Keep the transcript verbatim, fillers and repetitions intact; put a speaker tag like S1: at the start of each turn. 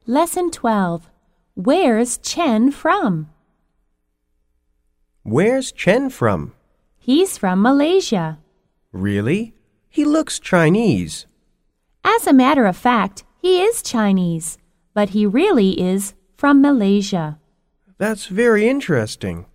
S1: Lesson twelve. Where's Chen from?
S2: Where's Chen from?
S1: He's from Malaysia.
S2: Really? He looks Chinese.
S1: As a matter of fact, he is Chinese, but he really is from Malaysia.
S2: That's very interesting.